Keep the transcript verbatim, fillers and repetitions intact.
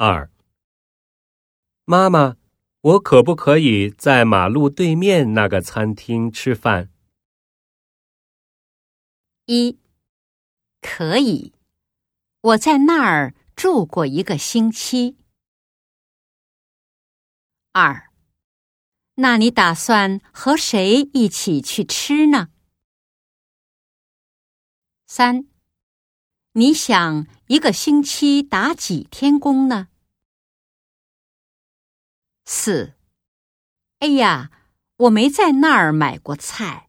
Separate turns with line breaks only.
二，妈妈，我可不可以在马路对面那个餐厅吃饭？
一，可以，我在那儿住过一个星期。二，那你打算和谁一起去吃呢？三，你想一个星期打几天工呢？四，哎呀，我没在那儿买过菜。